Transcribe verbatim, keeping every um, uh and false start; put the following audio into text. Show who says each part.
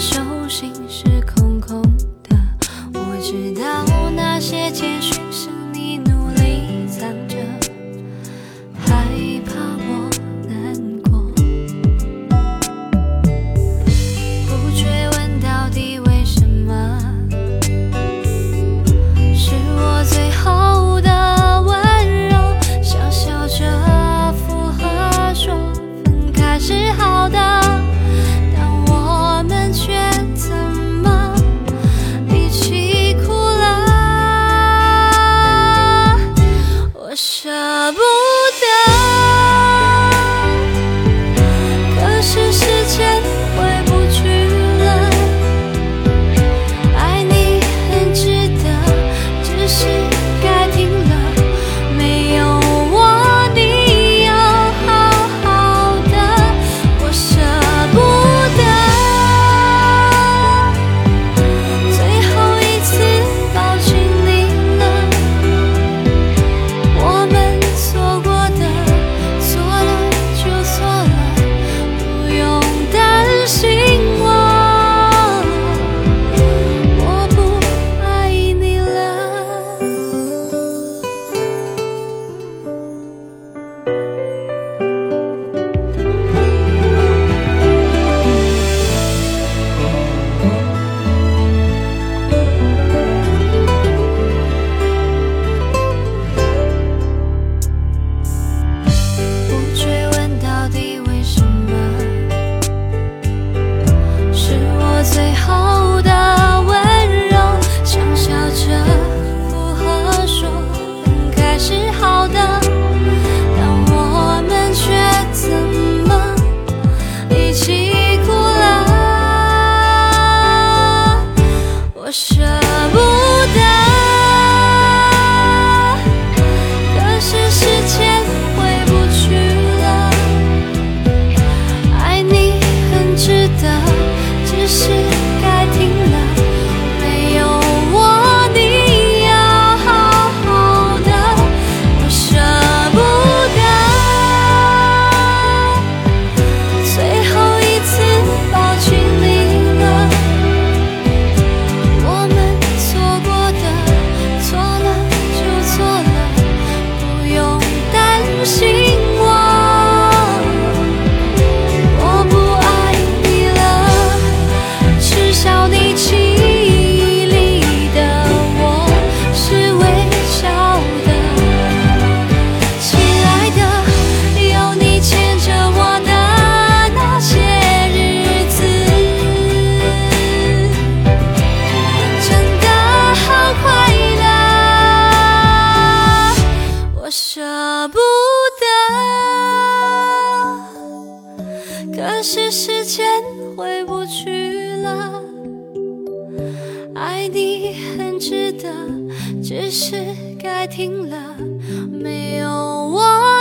Speaker 1: 手心是空空的，我知道那些简讯是你努力藏着，害怕我难过，不追问到底为什么，是我最后的温柔，想笑着附和说分开是好的，但我们却怎么一起哭了，我舍不得，可是时间回不去了，爱你很值得，只是该停了，没有我你要好好的，我舍不得，最后一次抱紧你了，我们错过的，错了就错了，不用担心我，我不爱你了。不追问到底为什么，是我最后的温柔，想笑着附和说分开是好的，但我们却怎么一起哭了，我舍不得，可是时间回不去了，爱你很值得，只是该停了，没有我你要好好的，我舍不得，最后一次抱紧你了，我们错过的，错了就错了，不用担心我，我不爱你了，耻笑你记忆里的我是微笑的，亲爱的，有你牵着我的那些日子，真的好快乐，我舍不得，可是时间回不去了，爱你很值得，只是该停了，没有我